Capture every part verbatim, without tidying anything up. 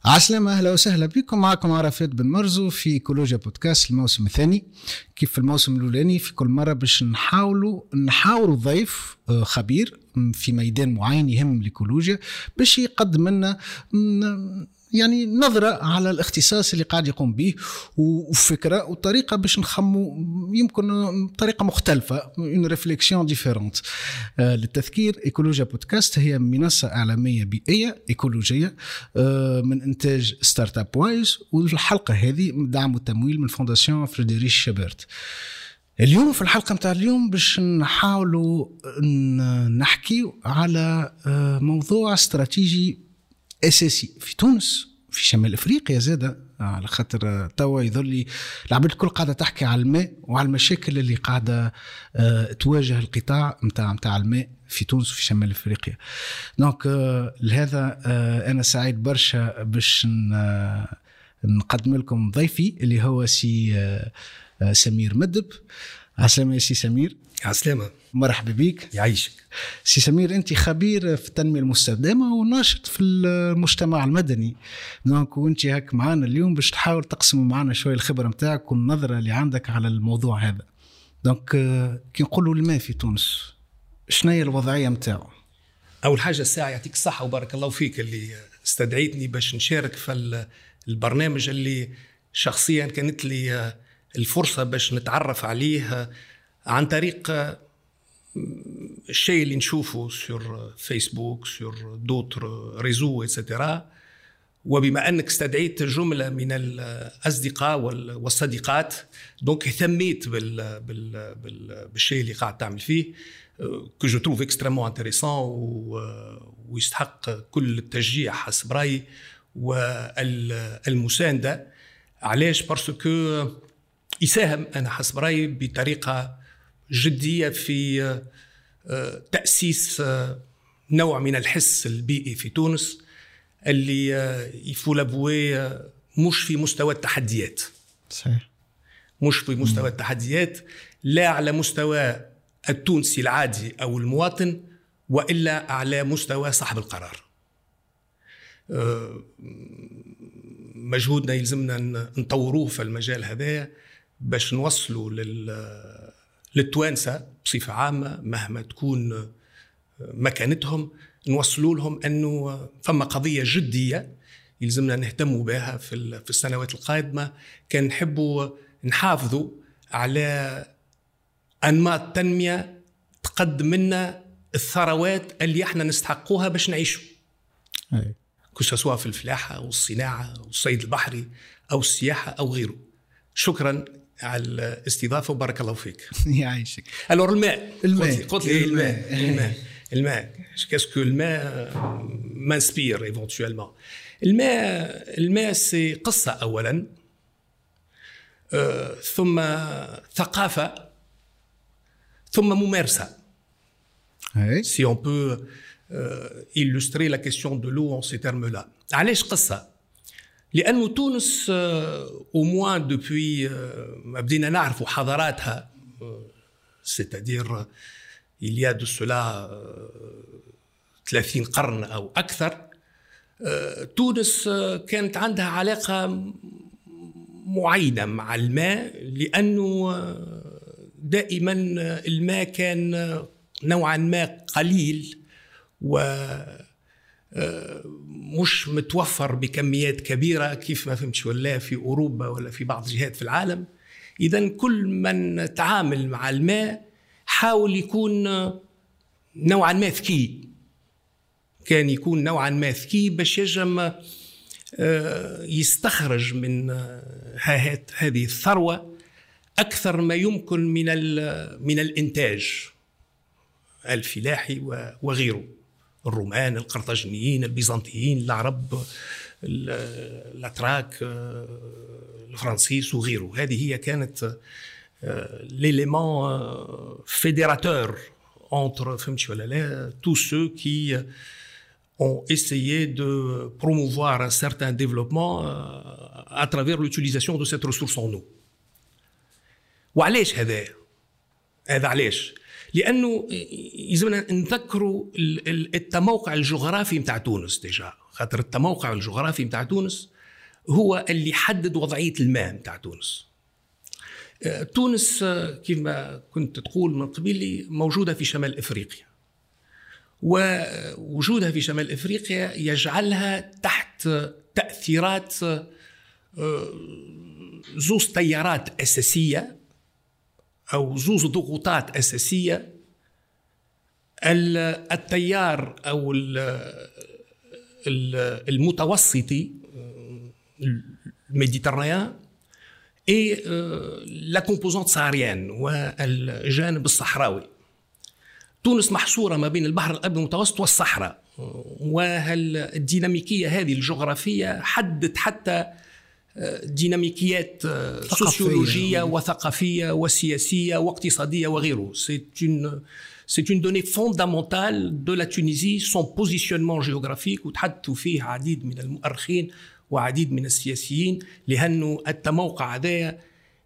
عسلامة، أهلا وسهلا بكم. معكم عرفات بن مرزو في إيكولوجيا بودكاست الموسم الثاني. كيف في الموسم الأولاني في كل مرة باش نحاولوا نحاوروا ضيف خبير في ميدان معين يهم الإيكولوجيا باش يقدم لنا يعني نظرة على الاختصاص اللي قاعد يقوم به وفكرة وطريقة باش نخمو يمكن بطريقة مختلفة، une réflexion différente. آه للتذكير، إيكولوجيا بودكاست هي منصة إعلامية بيئية إيكولوجية آه من إنتاج ستارت اب وايز، والحلقة هذه دعم وتمويل من فونداسيون فريدريش شابرت. اليوم في الحلقة متاع اليوم باش نحاولوا نحكي على آه موضوع استراتيجي أساسي في تونس في شمال أفريقيا زادة، على خاطر توا يظل العباد الكل قاعدة تحكي على الماء وعلى المشاكل اللي قاعدة اه تواجه القطاع متاع متاع الماء في تونس وفي شمال أفريقيا. دونك اه لهذا اه أنا سعيد برشا باش نقدم لكم ضيفي اللي هو سي اه سمير مدب. عسلامة يا سي سمير. عسلامة، مرحبا بك. يعيشك سي سمير. انت خبير في التنميه المستدامه وناشط في المجتمع المدني، دونك وانت هاك معنا اليوم باش تحاول تقسم معنا شويه الخبره نتاعك والنظره اللي عندك على الموضوع هذا. دونك كي نقولوا الماء في تونس شنو هي الوضعيه نتاعو؟ اول حاجه الساعه يعطيك الصحه وبارك الله فيك اللي استدعيتني باش نشارك في البرنامج اللي شخصيا كانت لي الفرصه باش نتعرف عليه عن طريق الشيء اللي نشوفه سور فيسبوك سور دوتر ريزو إتسترا. وبما أنك استدعيت جملة من الأصدقاء والصديقات، دونك اهتميت بال بال بال بالشيء اللي قاعد تعمل فيه que je trouve extrêmement intéressant ويستحق كل التشجيع حسب رأيي والمساندة. علاش؟ بارسكو يساهم أنا حسب رأيي بطريقة جدية في تأسيس نوع من الحس البيئي في تونس اللي يفولابوي مش في مستوى التحديات، صحيح، مش في مستوى التحديات لا على مستوى التونسي العادي أو المواطن، وإلا على مستوى صاحب القرار. مجهودنا يلزمنا نطوروه في المجال هذا باش نوصلوا لل للتوانسة بصفة عامة مهما تكون مكانتهم، نوصلوا لهم أنه فما قضية جدية يلزمنا نهتموا بها في في السنوات القادمة. كان نحبوا نحافظوا على أنماط تنمية تقدم لنا الثروات اللي احنا نستحقوها باش نعيشوا، كسوا في الفلاحة والصناعة والصيد البحري أو السياحة أو غيره. شكرا على الاستضافة وبارك الله فيك. يعيشك. alors الماء الماء قلت لي الماء الماء الماء qu'est-ce que الماء m'inspire éventuellement. الماء الماء سي قصة أولا، آه، ثم ثقافة، ثم ممارسة. si on peut euh, illustrer la question de l'eau en ces termes-là. علاش قصة؟ لأنه تونس au moins depuis ما بدينا نعرف حضاراتها، c'est-à-dire il y a de cela ثلاثين قرن أو أكثر، تونس كانت عندها علاقة معينة مع الماء، لأنه دائما الماء كان نوعا ما قليل و مش متوفر بكميات كبيرة كيف ما فهمتش ولا في أوروبا ولا في بعض الجهات في العالم. إذن كل من تعامل مع الماء حاول يكون نوعا ما ذكي، كان يكون نوعا ما ذكي باش يجم يستخرج من هذه الثروة أكثر ما يمكن من من الإنتاج الفلاحي وغيره. الرومان، القرطاجنيين، البيزنطيين، العرب، الأتراك، الفرنسيس وغيره. هذه هي كانت l'élément fédérateur entre فهمتش ولا لا tous ceux qui ont essayé de promouvoir un certain développement à travers l'utilisation de cette ressource en eau. وعلاش هذا؟ هذا علاش؟ لانه يلزمنا نذكروا التموقع الجغرافي نتاع تونس ديجا، خاطر التموقع الجغرافي نتاع تونس هو اللي حدد وضعيه الماء نتاع تونس. تونس كما كنت تقول من قبل موجوده في شمال افريقيا، ووجودها في شمال افريقيا يجعلها تحت تاثيرات زوز تيارات اساسيه او زوز ضغوطات اساسيه. التيار او المتوسطي الميديترانيان اي لا كومبوزونت ساهاريان والجانب الصحراوي. تونس محصورة ما بين البحر الأبيض المتوسط والصحراء، وهالديناميكية هذه الجغرافية حدت حتى ديناميكيات سوسيولوجية وثقافية وسياسية واقتصادية وغيره. C'est une c'est une donnée fondamentale de la Tunisie, son positionnement géographique، وتحدثوا فيه عديد من المؤرخين وعديد من السياسيين، لأنه التموقع هذا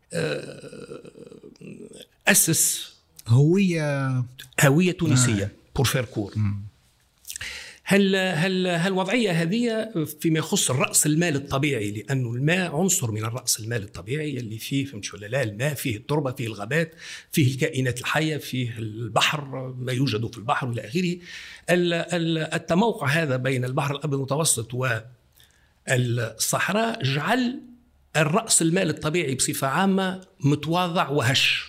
أسس هوية هوية تونسية بور فير كور. هل هل هالوضعية هذه فيما يخص الرأس المال الطبيعي، لأنه الماء عنصر من الرأس المال الطبيعي اللي فيه، فهمت ولا لا؟ الماء فيه التربة، فيه الغابات، فيه الكائنات الحية، فيه البحر، ما يوجد في البحر وإلى آخره. التموقع هذا بين البحر الأبيض المتوسط والصحراء جعل الرأس المال الطبيعي بصفة عامة متواضع وهش،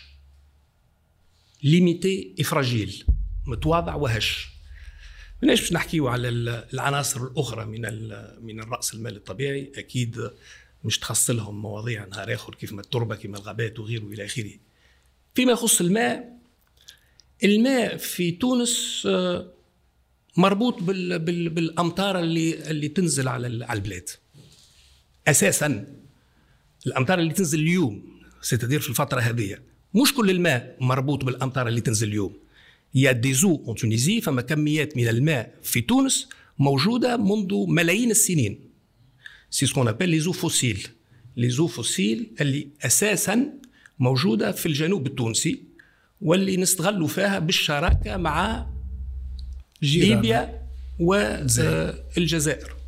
ليميتي إفراجيل، متواضع وهش. مناش باش نحكيو على العناصر الأخرى من من الرأس المال الطبيعي، أكيد مش تخص لهم مواضيع نهار آخر كيف ما التربة كيف ما الغابات وغيره إلى آخره. فيما يخص الماء، الماء في تونس مربوط بال بال بالأمطار اللي اللي تنزل على على البلاد. أساسا الأمطار اللي تنزل اليوم ستدير في الفترة هذه، مش كل الماء مربوط بالأمطار اللي تنزل اليوم. يا دي زو اون تونيزي، فما كميات من الماء في تونس موجودة منذ ملايين السنين. سي سكون ابل لي زو فوسيل، لي زو فوسيل اللي أساسا موجودة في الجنوب التونسي، واللي نستغلوا فيها بالشراكة مع ليبيا والجزائر.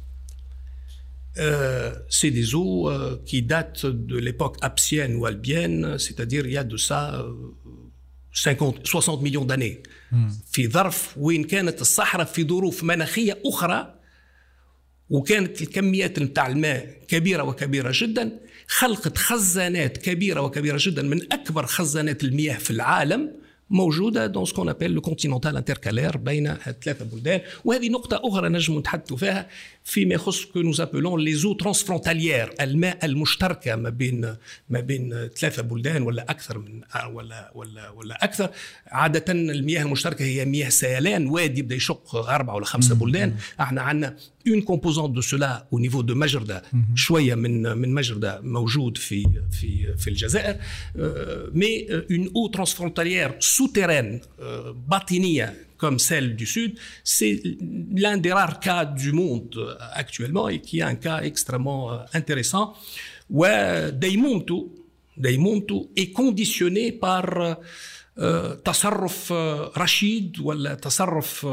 C'est des eaux qui datent de l'époque apsienne ou albienne, c'est-à-dire il y a de ça cinquante soixante millions d'années. في ظرف وين كانت الصحراء في ظروف مناخية أخرى، وكانت الكميات نتاع الماء كبيرة وكبيرة جدا، خلقت خزانات كبيرة وكبيرة جدا من أكبر خزانات المياه في العالم موجودة dans ce qu'on appelle le continental intercalaire بين الثلاثة بلدان. وهذه نقطة أخرى نجم نتحدث فيها فيما يخص que nous appelons les eaux transfrontalières، الماء المشتركة ما بين ما بين ثلاثة بلدان ولا أكثر من ولا ولا ولا أكثر. عادة المياه المشتركة هي مياه سيلان، وادي بدا يشق أربعة ولا خمسة بلدان. احنا عندنا une composante de cela au niveau de مجردة، شوية من من مجردة موجود في في في الجزائر، mais une eau transfrontalière souterraine باطنية comme celle du Sud, c'est l'un des rares cas du monde actuellement et qui est un cas extrêmement intéressant. ودايمومتو دايمومتو est conditionné par تصرف رشيد ولا تصرف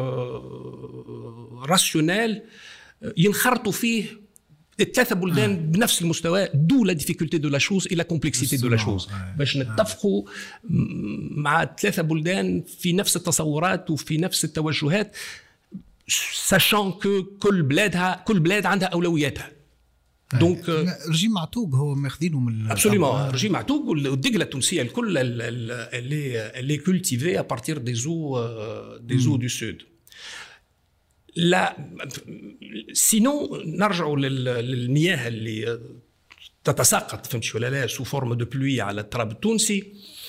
راسيونيل ينخرطوا فيه الثلاثة بلدان آه. بنفس المستوى، دو لا ديفيكولتي دو لا شوز إلى كومبلكسيتي دو لا شوز، باش نتفقوا مع الثلاثة بلدان في نفس التصورات وفي نفس التوجهات، ساشون كو كل بلادها كل بلاد عندها أولوياتها. دونك رجيم معتوق هو ماخذينه من ابسوليومون رجيم معتوق، والدقله التونسيه الكل اللي اللي كولتيفي ا بارتير دي زو دي زو دو سود. لا سينو نرجعوا للمياه اللي تتساقط فهمت ولا لا سو فورم دو بلوي على التراب التونسي.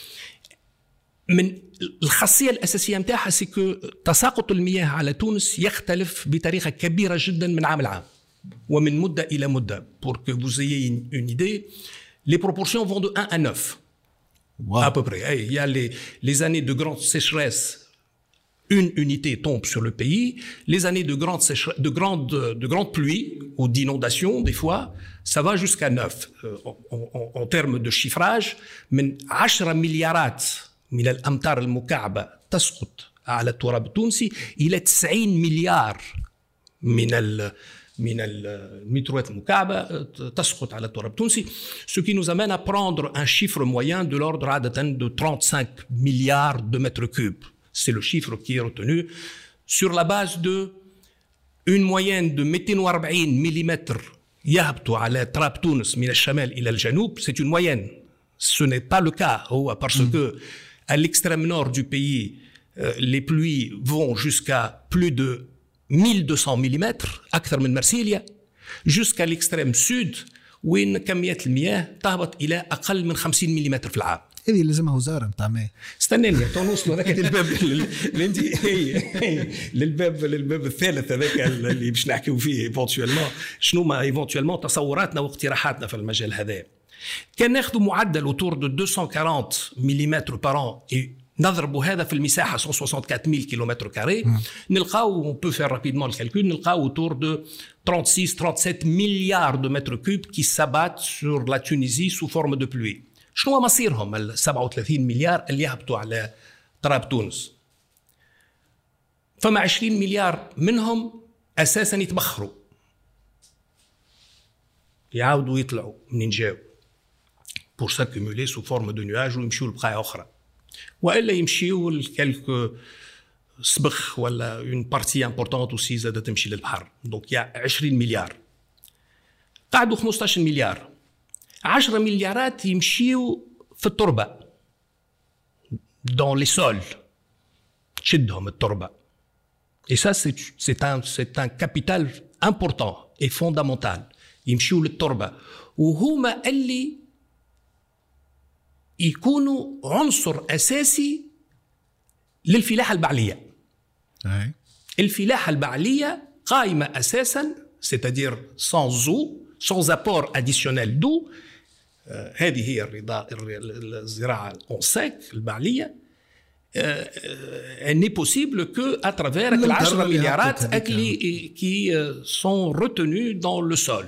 من الخاصيه الاساسيه نتاعها سي كو تساقط المياه على تونس يختلف بطريقه كبيره جدا من عام لعام ومن مدة إلى مدة. Pour que vous ayez une, une idée, les proportions vont de un à neuf. Wow. À peu près. Il y a les, les années de grande sécheresse, une unité tombe sur le pays. Les années de grande, sécheresse, de grande, de grande pluie ou d'inondation, des fois, ça va jusqu'à neuf. Euh, en, en, en termes de chiffrage, من عشرة مليارات من الأمتار المكعبة تسقط على التراب التونسي إلى تسعين مليار من ال من المترات المكعبة تسقط على التراب التونسي. Ce qui nous amène à prendre un chiffre moyen de l'ordre عادة de trente-cinq milliards de mètres cubes. C'est le chiffre qui est retenu sur la base de une moyenne de مئتين وأربعين مليمتر يهبطوا على تراب تونس من الشمال إلى الجنوب. C'est une moyenne. Ce n'est pas le cas. هو parce mm. que à l'extrême nord du pays, euh, les pluies vont jusqu'à plus de mille deux cents مليمتر أكثر من مرسيليا، jusqu'à l'extrême sud وين كميات المياه تهبط إلى أقل من خمسين مليمتر في العام. هذه لازمها وزارة متاع ماء. استناني تونوصلوا هذاك للباب اللي انت للباب للباب الثالث هذاك اللي باش نحكيو فيه ايفونتويلمون شنو ما ايفونتويلمون تصوراتنا واقتراحاتنا في المجال هذا. كان ناخذوا معدل اوتور دو مئتين وأربعين مليمتر بار ان نضربوا هذا في المساحه مئة وأربعة وستين ألف كيلومتر كاري نلقاو اون بو فير رابيدمون الكالكول نلقاو اوتور دو ثلاثة وستين سبعة مليار دو متر كوب كي سابات سور لا تونيزي سو فورم دو بلوي. شنو مصيرهم ال سبعة وثلاثين مليار اللي يهبطوا على تراب تونس؟ فما عشرين مليار منهم اساسا يتبخروا يعاودوا يطلعوا منين جاوا pour s'accumuler sous forme de nuages ويمشيوا لبقايا اخرى، والا يمشيوا لكالكو سبخ ولا اون بارتي امبورطونت وسي زاد تمشي للبحر. دونك يا عشرين مليار قعدوا خمسطاش مليار، عشرة مليارات يمشيوا في التربه دون لي سول تشدهم التربه. Et ça c'est c'est un c'est un capital important et fondamental يمشيوا للتربه وهما اللي يكونوا عنصر أساسي للفلاحة البعلية. أي. الفلاحة البعلية قائمة أساساً c'est-à-dire sans eau sans apport additionnel d'eau. آه هذه هي الرضا الزراعة en sec البعلية. آه elle n'est possible que à travers العشرة مليارات qui sont retenus dans le sol.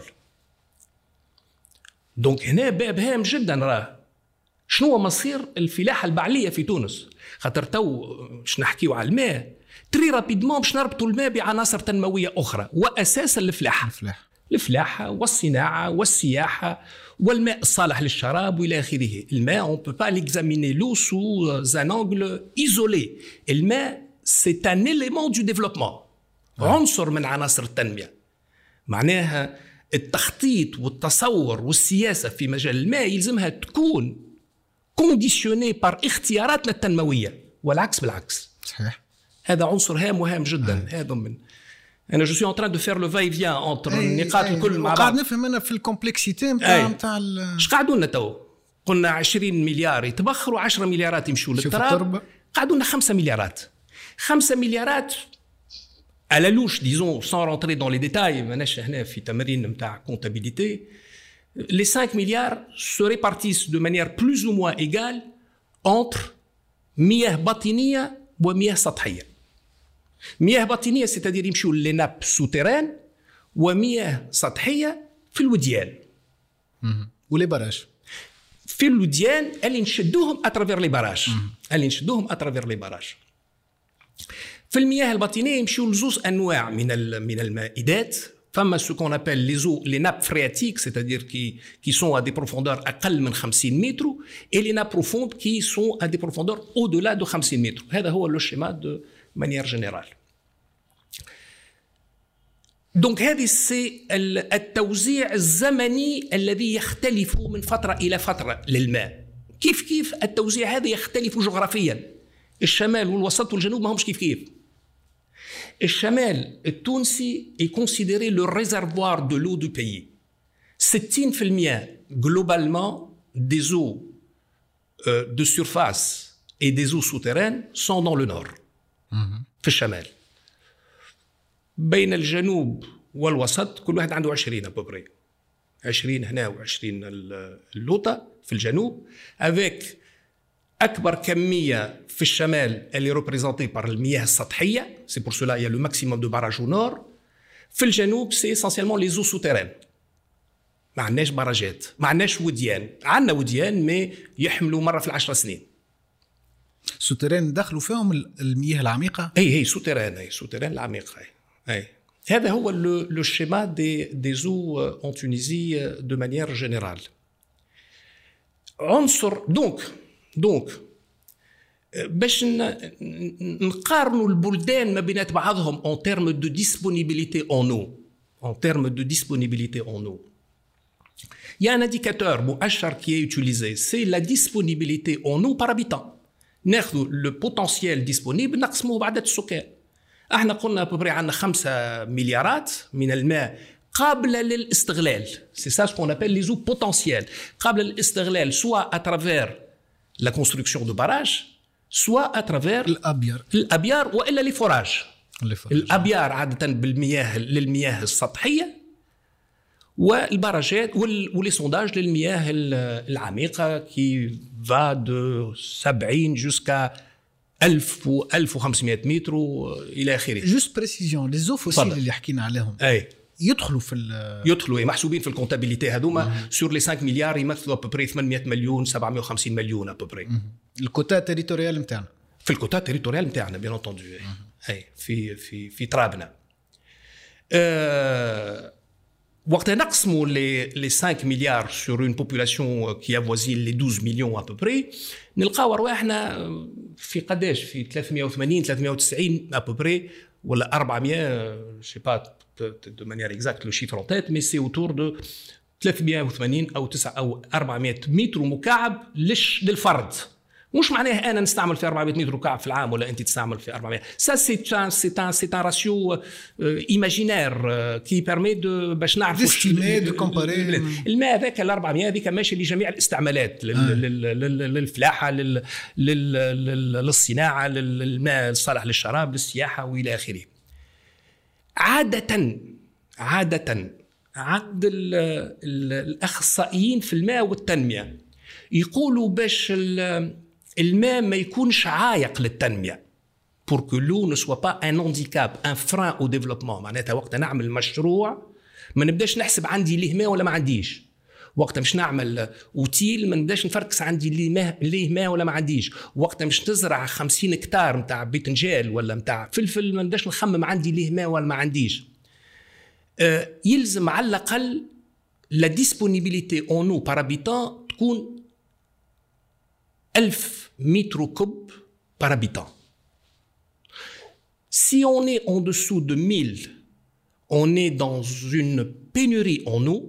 donc هنا باب هام جداً راه شنو مصير الفلاحة البعلية في تونس؟ خاطر تو باش نحكيو على الماء تري رابيدمون باش نربطوا الماء بعناصر تنموية أخرى وأساسا الفلاحة. الفلاحة الفلاحة والصناعة والسياحة والماء الصالح للشراب وإلى آخره. الماء on peut pas l'examiner l'eau sous un angle isolé. الماء c'est un élément du développement. عنصر من عناصر التنمية. معناها التخطيط والتصور والسياسة في مجال الماء يلزمها تكون كونديسيوني بار اختياراتنا التنمويه والعكس بالعكس. صحيح. هذا عنصر هام وهام جدا. هذا من انا جو سوي ان تران دو فير لو فاي فيان انتر النقاط الكل مع بعض. قاعد نفهم انا في الكومبلكسيتي نتاع نتاع اش قعدوا لنا تو؟ قلنا عشرين مليار يتبخروا عشرة مليارات يمشوا للتراب. قعدوا لنا خمسة مليارات. خمسة مليارات على لوش ديزون سان رونتري دون لي ديتاي ماناش هنا في تمرين نتاع كونتابيليتي. Les cinq milliards se répartissent de manière plus ou moins égale entre مياه باطنية ومياه سطحية. مياه باطنية c'est-à-dire يمشوا les nappes souterraines ومياه سطحية في الوديان. ولي باراج. في الوديان اللي نشدوهم اترافير لي باراج. اللي نشدوهم اترافير لي باراج. في المياه الباطنية يمشوا لزوز أنواع من من المائدات. فما ce qu'on appelle les eaux, les nappes phréatiques, c'est-à-dire qui, qui sont à des profondeurs أقل من خمسين متر, et les nappes profondes qui sont à des profondeurs au-delà de خمسين متر. هذا هو le schéma de manière générale. donc هذه c'est التوزيع الزمني الذي يختلف من فترة إلى فترة للماء. كيف كيف التوزيع هذا يختلف جغرافيا. الشمال والوسط والجنوب ما همش كيف كيف. الشمال التونسي est considéré le réservoir de l'eau du pays. ستين بالمئة globalement des eaux euh, de surface et des eaux souterraines sont dans le nord. في الشمال. بين الجنوب والوسط كل واحد عنده عشرين أبوبري. عشرين هنا وعشرين اللوطة في الجنوب. avec أكبر كمية في الشمال اللي représentée par المياه السطحية. c'est pour cela il y a le maximum de barrages au nord. في الجنوب c'est essentiellement les eaux souterraines. ما عندناش باراجات، ما عندناش وديان، عندنا وديان مي يحملوا مرة في العشر سنين. سوتيران دخلوا فيهم المياه العميقه. اي هي سوتيران، اي سوتيران العميقه. اي, أي. هذا هو لو شيما دي دي زو اون تونيزي دو مانيير جينيرال. عنصر دونك دونك باش نقارنوا البلدان ما بينات بعضهم اون تيرم دو ديسپونيبيليتي اون او en termes de disponibilité en eau. Il y a un indicateur مؤشر qui est utilisé, c'est la disponibilité en eau par habitant. ناخذ le potentiel disponible نقسمه بعدد السكان. احنا قلنا ببري عندنا خمسة مليارات من الماء قابلة للاستغلال. C'est ça ce qu'on appelle les eaux potentielles. قابلة للاستغلال soit à travers la construction de barrages, soit à travers الأبيار الأبيار وإلا les forages. الأبيار عادة بالمياه للمياه السطحية والبراجات واللي سونداج للمياه العميقة كي va de سبعين jusqu'à ألف و ألف وخمسمائة متر إلى آخره. جوست بريسيزيون لي زو فوسيل اللي حكينا عليهم أي يدخلوا في يدخلوا محسوبين في الكونتابيليتي هذوما سور لي خمسة مليار يمثلوا ابوبري ثمانمائة مليون سبعمائة وخمسين مليون ابوبري. الكوتا تيريتوريال نتاعنا في الكوتا تيريتوريال نتاعنا بيان انتوندو اي في في في ترابنا. أه وقت نقسموا لي لي خمسة مليار sur une population qui avoisine les douze millions à peu près نلقاو ارواحنا في قداش في ثلاثمائة وثمانين ثلاثمائة وتسعين à peu près ولا أربعمائة je sais pas de manière exacte le chiffre en tête mais c'est autour de ثلاثمائة وثمانين او تسعة او أربعمائة متر مكعب للفرد. مش معناه انا نستعمل في أربعمائة متر مكعب في العام ولا انت تستعمل في أربعمائة. ça c'est un c'est un c'est un ratio euh, imaginaire euh, qui permet de باش نعرفوا de comparer الماء ذاك ال أربعمائة هذيك ماشي لجميع الاستعمالات للفلاحه للصناعه للماء الصالح للشراب للسياحه والى اخره. عاده عاده عند الاخصائيين في الماء والتنميه يقولوا باش الماء ما يكونش عائق للتنمية pour que l'eau ne soit pas un handicap, un frein au développement. معناتها وقت نعمل مشروع ما نبداش نحسب عندي ليه ماء ولا ما عنديش. وقت مش نعمل اوتيل ما نبداش نفركس عندي ليه ماء ليه ماء ولا ما عنديش. وقت مش نزرع خمسين هكتار نتاع بيتنجال ولا نتاع فلفل ما نبداش نخمم عندي ليه ماء ولا ما عنديش. آه يلزم على الأقل la disponibilité en eau par habitant تكون ألف متر كوب par habitant. Si on est en dessous de mille, on est dans une pénurie en eau.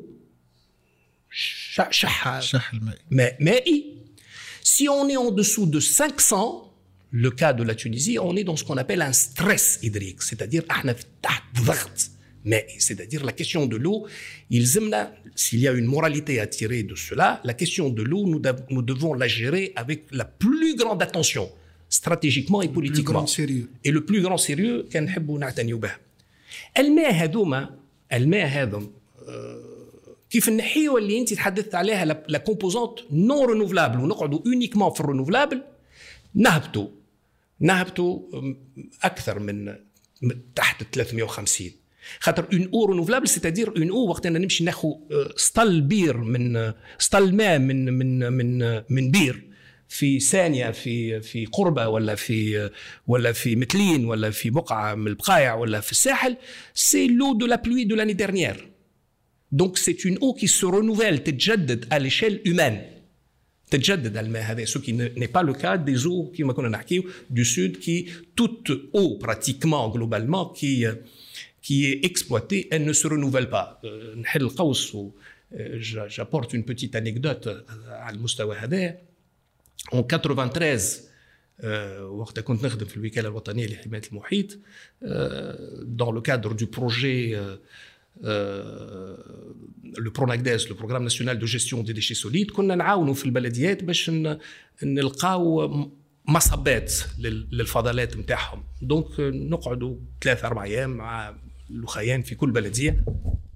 شح مائي. Si on est en dessous de cinq cents, le cas de la Tunisie, on est dans ce qu'on appelle un stress hydrique, c'est-à-dire احنا تحت ضغط مائي. C'est-à-dire la question de l'eau, يلزمنا s'il y a une moralité à tirer de cela, la question de l'eau, nous, nous devons la gérer avec la plus grande attention, stratégiquement et politiquement. Et le plus grand sérieux كان نحبوا نعتنيوا به. الماء هذوما الماء هذم كيف نحيوا اللي انت تحدثت عليها لا كومبوزونت نون رينوفلابل ونقعدوا اونيكمون في الرينوفلابل نهبطوا نهبطوا اكثر من تحت ثلاثمائة وخمسين. خاطر اون او رينوفلابل سيتادير اون او وقت انا نمشي ناخذ سطل بير من سطل ماء من من من من بير في ثانيه في في قربه ولا في ولا في متلين ولا في بقعه من البقايع ولا في الساحل سي لو دو لا بلوي دو لاني ديرنيير. دونك سي اون او كي سو رينوفيل تتجدد ا ليشيل هيومان تتجدد الماء هذا سو كي ني با لو كا دي زو كيما كنا نحكيو دو سود كي توت او براتيكمون غلوبالمون كي qui est exploitée, elle ne se renouvelle pas. نحل قوس و j'apporte une petite anecdote على المستوى هذا. En quatre-vingt-treize وقت كنت نخدم في الوكالة الوطنية لحماية المحيط dans le cadre du projet le PRONACDES, le Programme national de gestion des déchets solides, كنا نعاونوا في البلديات باش نلقاو مصبات للفضلات نتاعهم. دونك نقعدوا ثلاثة أربع أيام مع الأخيان في كل بلدية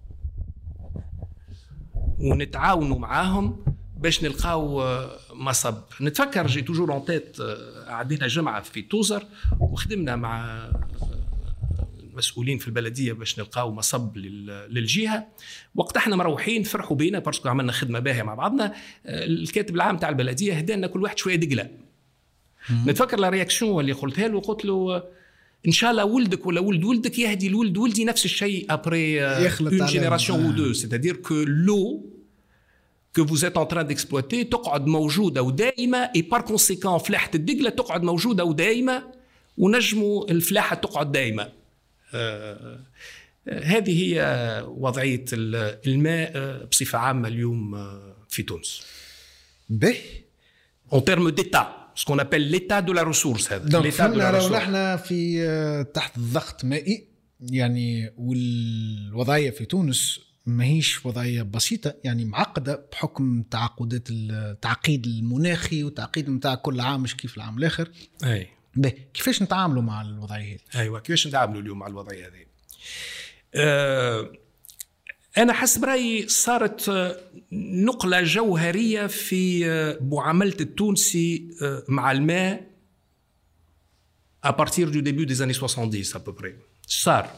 ونتعاونوا معاهم باش نلقاو مصب. نتفكر جي توجور اون تيت عدينا جمعة في توزر وخدمنا مع المسؤولين في البلدية باش نلقاو مصب للجهة. وقت احنا مروحين فرحوا بينا بارسكو عملنا خدمة باهية مع بعضنا. الكاتب العام تاع البلدية هدانا كل واحد شوية دقلة نتفكر لا رياكسيون اللي قلتها له، قلت له ان شاء الله ولدك ولا ولد ولدك يهدي الولد ولدي نفس الشيء ابري اون جينيراسيون او دو، c'est-à-dire que l'eau que vous êtes en train d'exploiter تقعد موجوده ودائمه، et par conséquent فلاحه الدقله تقعد موجوده ودائمه، ونجموا الفلاحه تقعد دائمه. آه هذه هي وضعيه الماء بصفه عامه اليوم في تونس. به en termes d'état، ce qu'on appelle l'état de la ressource. هذا l'état de la ressource. احنا في تحت الضغط مائي يعني، والوضعيه في تونس ماهيش وضعيه بسيطه يعني، معقده بحكم تعقدات التعقيد المناخي وتعقيد نتاع كل عام مش كيف العام الاخر. اي به كيفاش نتعاملوا مع الوضعيه هذه؟ ايوه كيفاش نتعاملوا اليوم مع الوضعيه هذه؟ أه أنا حسب رأيي صارت نقلة جوهرية في معاملة التونسي مع الماء à partir du début des années soixante-dix à peu près. صار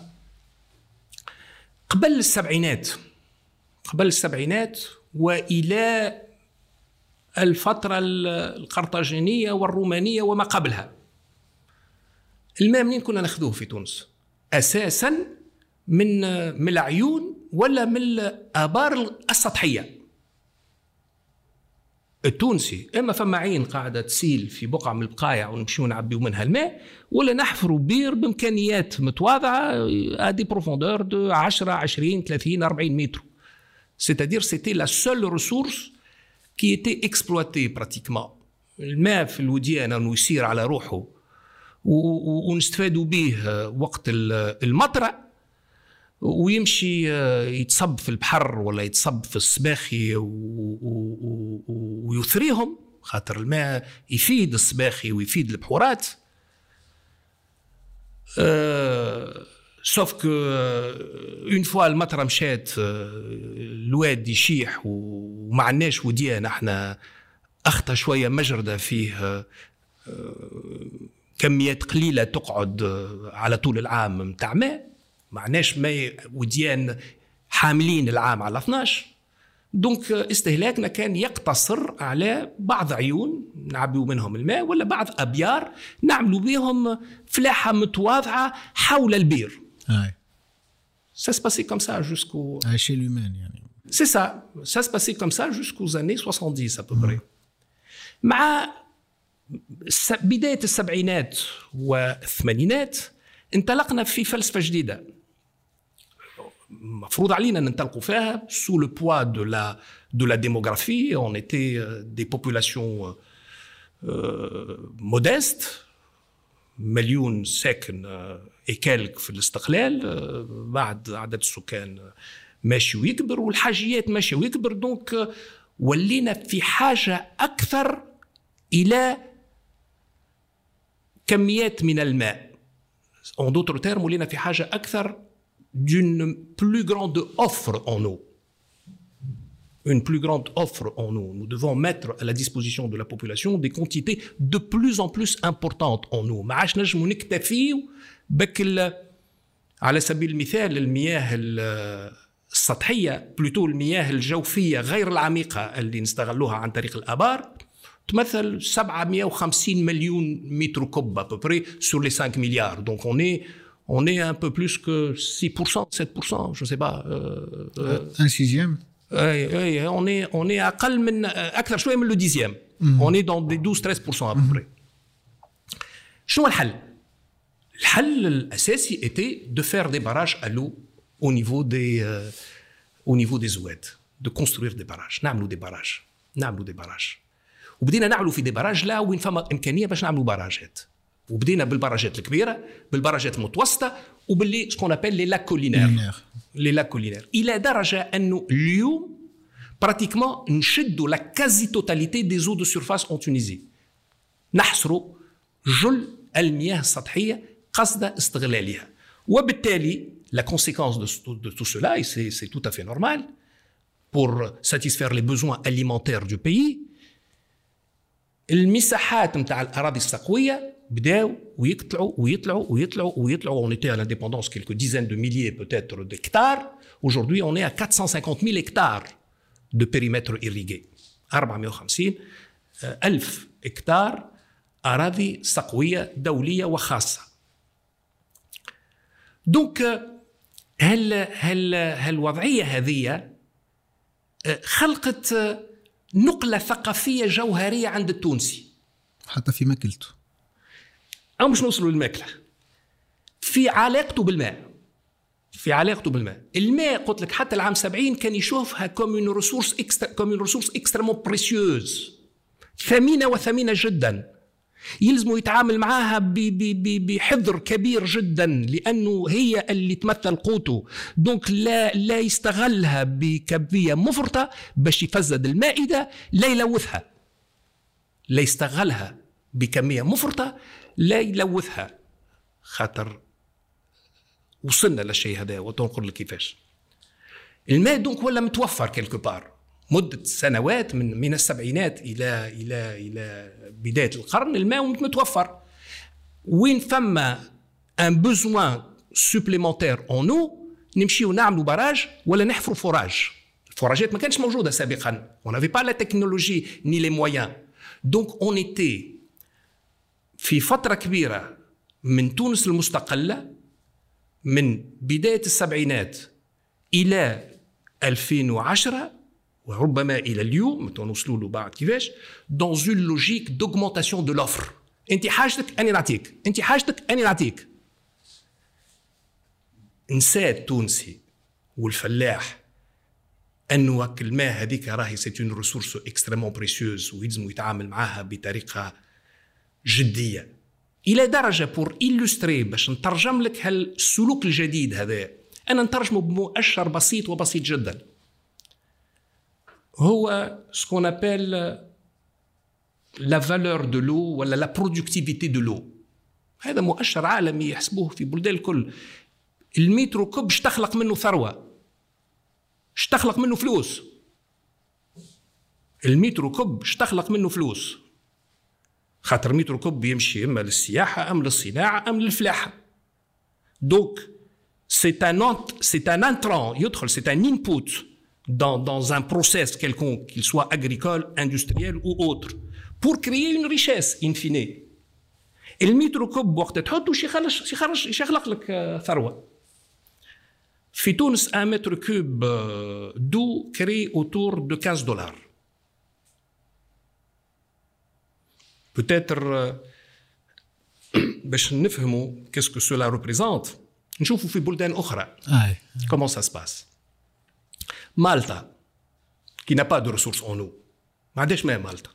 قبل السبعينات قبل السبعينات وإلى الفترة القرطاجينية والرومانية وما قبلها، الماء منين كنا ناخذوه في تونس؟ أساساً من من العيون ولا من الآبار السطحية. التونسي إما فما عين قاعدة تسيل في بقعة من البقايع ونمشيو نعبيو منها الماء، ولا نحفروا بير بإمكانيات متواضعة à des profondeurs de عشرة عشرين ثلاثين أربعين متر. C'est-à-dire c'était la seule ressource qui était exploitée pratiquement. الماء في الوديان أنه يسير على روحه ونستفادوا به وقت المطرة، ويمشي يتصب في البحر ولا يتصب في السباخي ويثريهم، خاطر الماء يفيد السباخي ويفيد البحورات. سوف كو اون فوا المطره مشات الواد يشيح وما عندناش وديان، احنا اخطا شويه مجرده فيه كميات قليله تقعد على طول العام متاع ماء، معناش ما وديان حاملين العام على اثناش. دونك استهلاكنا كان يقتصر على بعض عيون نعبيو منهم الماء، ولا بعض أبيار نعملوا بهم فلاحة متواضعة حول البير. اي ça se passait comme ça jusqu'au à l'échelle humaine يعني. c'est ça ça se passait comme ça jusqu'aux années soixante-dix à peu près. مع بداية السبعينات والثمانينات انطلقنا في فلسفة جديدة مفروض علينا ننطلقوا فيها sous le poids de la de la démographie. On était des populations euh, modestes، مليون ساكن إكالك في الاستقلال، بعد عدد السكان ماشي ويكبر والحاجيات ماشي ويكبر، دونك ولينا في حاجة أكثر إلى كميات من الماء. En d'autres termes ولينا في حاجة أكثر d'une plus grande offre en eau. Une plus grande offre en eau. Nous devons mettre à la disposition de la population des quantités de plus en plus importantes en eau. ما عادش نجمو نكتفيو بك على سبيل المثال المياه السطحية، بلوتو المياه الجوفية غير العميقة اللي نستغلوها عن طريق الآبار، تمثل سبعمائة وخمسين مليون متر كوب à peu près sur les cinq milliards. Donc on est on est un peu plus que six pour cent, sept pour cent, je sais pas. Euh, euh, un sixième. Oui, on est on est أقل من أكثر شوية من le dixième. Mm-hmm. On est dans des douze treize pour cent à peu mm-hmm. près. شنو الحل؟ الحل الأساسي était de faire des barrages à l'eau au niveau des euh, au niveau des oued, de construire des barrages. نعملوا des barrages, نعملوا des barrages. وبدينا نعملوا في دي باراج لا وين فما إمكانية باش نعملوا باراجات. وبدينا بالباراجات الكبيرة، بالباراجات المتوسطة، وباللي سكون أبل لي لاك كولينير. لي لاك كولينير. إلى درجة أنه اليوم براتيكمون نشدوا لا كازي توتاليتي دي زو دو سيرفاس أون تونيزي. نحصروا جل المياه السطحية قصد استغلالها. وبالتالي la conséquence de, de tout cela, et c'est, c'est tout à fait normal, pour satisfaire les besoins alimentaires du pays, المساحات متاع الأراضي السقوية بداو ويطلعوا ويطلعوا ويطلعوا ويطلعوا. On était à l'indépendance quelques dizaines de milliers peut-être d'hectares. Aujourd'hui, on est à quatre cent cinquante mille hectares de périmètre irrigué. أربعمائة وخمسين ألف هكتار أراضي سقوية دولية وخاصة. دونك هل هل هالوضعية هذه خلقت نقلة ثقافية جوهرية عند التونسي حتى في ماكلته، أو مش نوصلوا للماكلة، في علاقته بالماء. في علاقته بالماء الماء قلت لك حتى العام سبعين كان يشوفها كومون ريسورس اكسترا كومون ريسورس اكستريمون بريسيوز، ثمينة وثمينة جدا، يلزموا يتعامل معاها بحذر كبير جدا لأنه هي اللي تمثل قوته. دونك لا لا يستغلها بكمية مفرطة باش يفسد المائدة، لا يلوثها، لا يستغلها بكمية مفرطة لا يلوثها، خاطر وصلنا للشيء هذا. وتنقل لك كيفاش الماء دونك ولا متوفر كيلكو بار مدة سنوات، من من السبعينات إلى إلى إلى بداية القرن الماء متوفر. وين فما ان بوزوان سوبليمونتير اون او نمشيو نعملوا باراج ولا نحفروا فوراج. الفوراجات ما كانتش موجودة سابقا، on n'avait pas la technologie ni les moyens. donc on était في فترة كبيرة من تونس المستقلة من بداية السبعينات إلى ألفين وعشرة وربما إلى اليوم نوصلوا له بعد كيفاش dans une logique d'augmentation de l'offre. أنت حاجتك أني نعطيك، أنت حاجتك أني نعطيك. نسى التونسي والفلاح أنه الماء هذيك راهي c'est une ressource extrêmement précieuse ويلزم يتعامل معها بطريقة جدية إلى درجة بور إلوستري باش نترجم لك هالسلوك الجديد هذا. أنا نترجمه بمؤشر بسيط وبسيط جدا، هو سكون أبل لا فالور دو لو ولا لا برودكتيفيتي دو لو. هذا مؤشر عالمي يحسبوه في بلدان الكل. المترو كوب اشتخلق منه ثروة، اشتخلق منه فلوس. المترو كوب اشتخلق منه فلوس، خاطر مترو كوب يمشي إما للسياحة أم للصناعة أم للفلاحة. دونك c'est un c'est un entrant يدخل c'est un input dans dans un process quelconque, qu'il soit agricole, industriel ou autre, pour créer une richesse in fine. المترو كوب وقت تحطه شي يخرج شي يخرج شي يخلق لك ثروة. في تونس un mètre cube d'eau crée autour de quinze dollars. peut-être باش نفهموا qu'est-ce que cela représente نشوفوا في بلدان أخرى comment ça se passe. مالطا qui n'a pas de ressources en eau ما عندهاش ماء. مالطا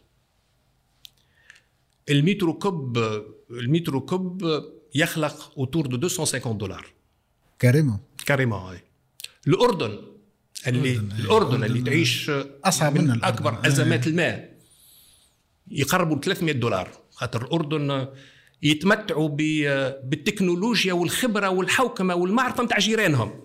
المترو كوب المترو كوب يخلق autour de deux cent cinquante dollars كاريمون كاريمون. الأردن اللي الأردن اللي تعيش أصعب من أكبر أزمات الماء يقربوا ثلاثمائة دولار، خاطر الأردن يتمتعوا بالتكنولوجيا والخبرة والحوكمة والمعرفة متاع جيرانهم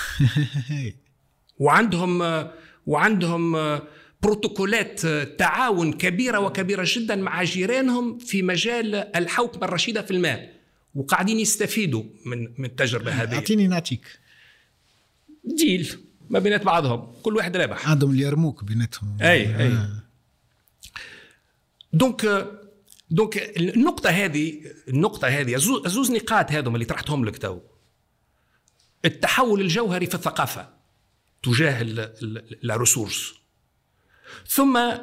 وعندهم وعندهم بروتوكولات تعاون كبيرة وكبيرة جدا مع جيرانهم في مجال الحوكمة الرشيدة في الماء، وقاعدين يستفيدوا من من التجربة هذه. أعطيني نعطيك ديل ما بينات بعضهم، كل واحد رابح. عندهم اليرموك بيناتهم. أي أي آه. دونك دونك النقطة هذه النقطة هذه زوز نقاط هذم اللي طرحتهم لك تو. التحول الجوهري في الثقافة تجاه لا ريسورس، ثم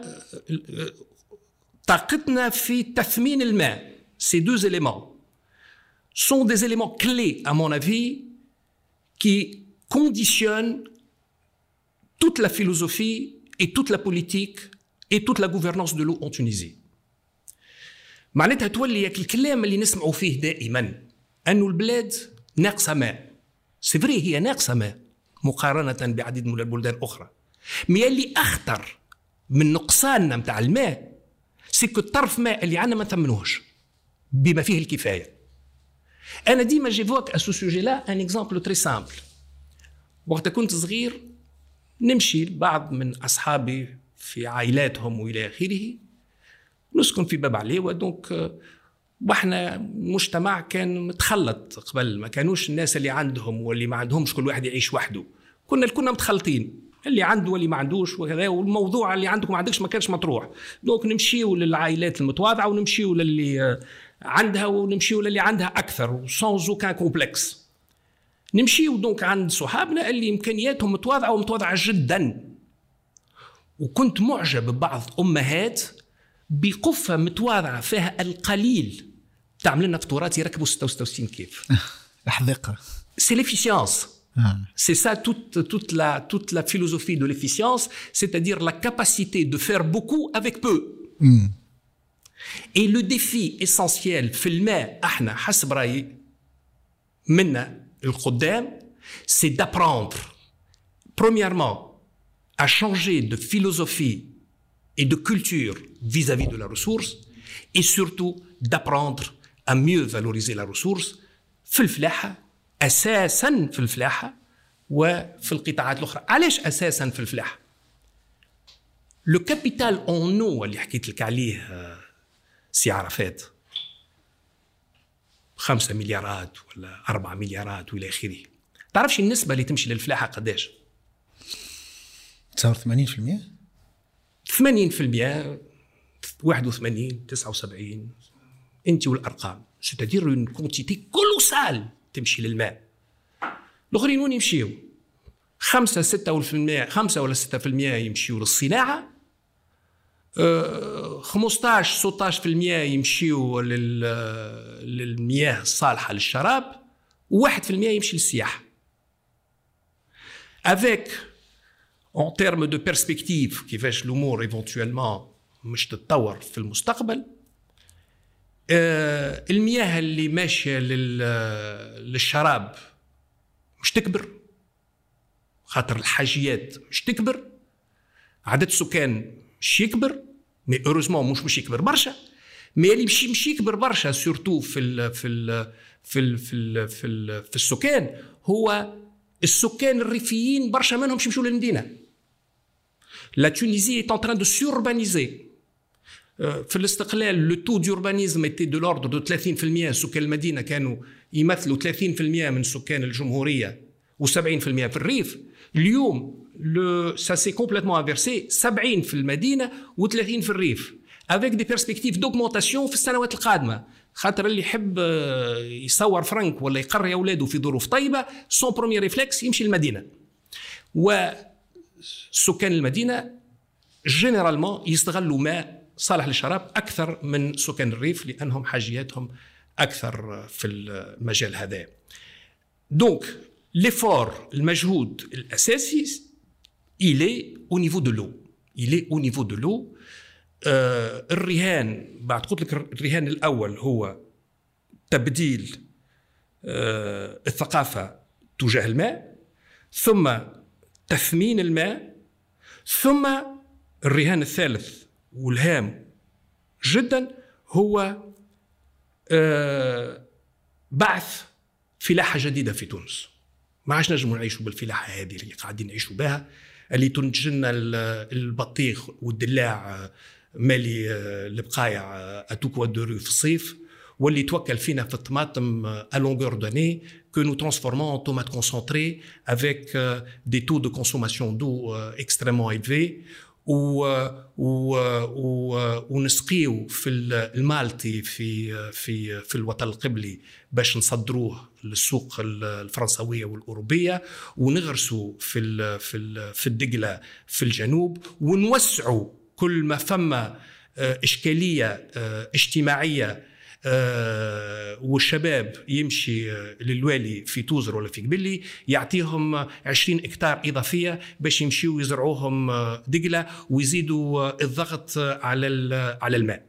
طاقتنا في تثمين الماء. Ces deux éléments sont des éléments clés à mon avis qui conditionnent toute la philosophie et toute la politique et toute la gouvernance de l'eau en Tunisie. معناتها تولي الكلام اللي نسمعوا فيه دائما أنه البلاد ناقصة ماء. سيفري هي ناقصة ماء مقارنة بعديد من البلدان الأخرى، مي اللي أخطر من نقصاننا متاع الماء سيكو الطرف ماء اللي عنا ما نثمنوهش بما فيه الكفاية. أنا ديما جيفوك أسو سوجي لا أن إكزامبل تري سامبل. وقت كنت صغير نمشي بعض من أصحابي في عائلاتهم وإلى آخره، نسكن في باب عليوة. دونك واحنا مجتمع كان متخلط قبل، ما كانوش الناس اللي عندهم واللي ما عندهمش كل واحد يعيش وحده، كنا كنا متخلطين. اللي عنده واللي ما عندوش وكذا، والموضوع اللي عندك ما عندكش ما كانش مطروح. دونك نمشيو للعائلات المتواضعه ونمشيو للي عندها ونمشيو للي عندها اكثر سانز اوكان كومبلكس. نمشيو دونك عند صحابنا اللي امكانياتهم متواضعه ومتواضعه جدا. وكنت معجب ببعض امهات بقفه متواضعه فيها القليل تعمل لنا فطورات يركبوا ستة وستين كيف. الحذيقه سي ليفيسيونس. Ah. C'est ça toute, toute, la, toute la philosophie de l'efficience, c'est-à-dire la capacité de faire beaucoup avec peu. Mm. Et le défi essentiel في الماء احنا حسب رأيي منا القدام, c'est d'apprendre premièrement à changer de philosophie et de culture vis-à-vis de la ressource, et surtout d'apprendre à mieux valoriser la ressource في الفلاحة أساساً في الفلاحة وفي القطاعات الأخرى. علاش أساساً في الفلاحة؟ لو كابيتال أون نو اللي حكيت لك عليه سي عرفات خمسة مليارات ولا أربعة مليارات وإلى آخره. تعرفش النسبة اللي تمشي للفلاحة قداش؟ تصور ثمانين بالمئة ثمانين بالمئة واحد وثمانين تسعة وسبعين أنت والأرقام. ستدير une quantité colossale تمشي للماء. الآخرين وين يمشيوا؟ خمسة ستة بالمئة خمسة ولا ستة بالمئة يمشيوا للصناعة، خمسطاش ستطاش بالمئة يمشيوا للمياه الصالحة للشراب، وواحد بالمئة يمشي للسياحة. avec en termes de perspective كيفاش الأمور éventuellement مش تتطور في المستقبل، آه المياه اللي ماشية للشراب مش تكبر، خاطر الحاجيات مش تكبر، عدد السكان مش يكبر، مي هeureusement مش مش يكبر برشا، مي اللي مش مش يكبر برشا سورتو في ال في ال في ال في ال في, ال في السكان هو السكان الريفيين برشا منهم مش يمشوا للمدينة. La Tunisie est en train de s'urbaniser. في الاستقلال لو تو دوربانيزم ايتي دو لوردر دو ثلاثين بالمئة. سكان المدينه كانوا يمثلوا ثلاثين بالمئة من سكان الجمهوريه وسبعين بالمئة في الريف. اليوم لو سا سي كومبليتمون انفيرسي، سبعين في المدينه وثلاثين في الريف، افيك دي بيرسبكتيف دوغمونتاسيون في السنوات القادمه. خاطر اللي يحب يصور فرنك ولا يقري اولاده في ظروف طيبه، سون بروميير ريفلكس يمشي للمدينه. وسكان المدينه جينيرالمون يستغلوا ماء صالح للشراب أكثر من سكان الريف لأنهم حاجياتهم أكثر في المجال هذا. دونك l'effort المجهود الأساسي il est au niveau de l'eau. il est au niveau de l'eau. آه الرهان بعد قلت لك الرهان الأول هو تبديل آه الثقافة تجاه الماء، ثم تثمين الماء، ثم الرهان الثالث والهام جدا هو آه بعث فلاحة جديدة في تونس. ما عادش نجموا نعيشوا بالفلاحة هذه اللي قاعدين نعيشوا بها، اللي تنتج لنا البطيخ والدلاع مالي البقايع اتوكوا دوري في الصيف، واللي توكل فينا في الطماطم à longueur d'année que nous transformons en tomates concentrées avec des taux de consommation d'eau extrêmement élevés. و و ونسقيو في المالتي في في في الوطن القبلي باش نصدروه للسوق الفرنسويه والاوروبيه، ونغرسوا في ال في ال في الدقله في الجنوب، ونوسعوا كل ما فما اشكاليه اجتماعيه والشباب يمشي للوالي في توزر ولا في قبلي يعطيهم عشرين اكتار إضافية باش يمشيوا يزرعوهم دقلة ويزيدوا الضغط على على الماء.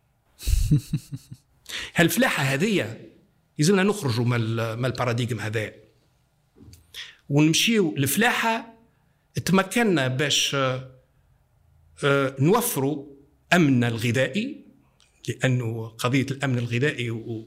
هالفلاحة هذه يزلنا نخرجوا من الباراديغم هذا ونمشيوا لفلاحة تمكننا باش نوفروا أمن الغذائي، لأنه قضية الأمن الغذائي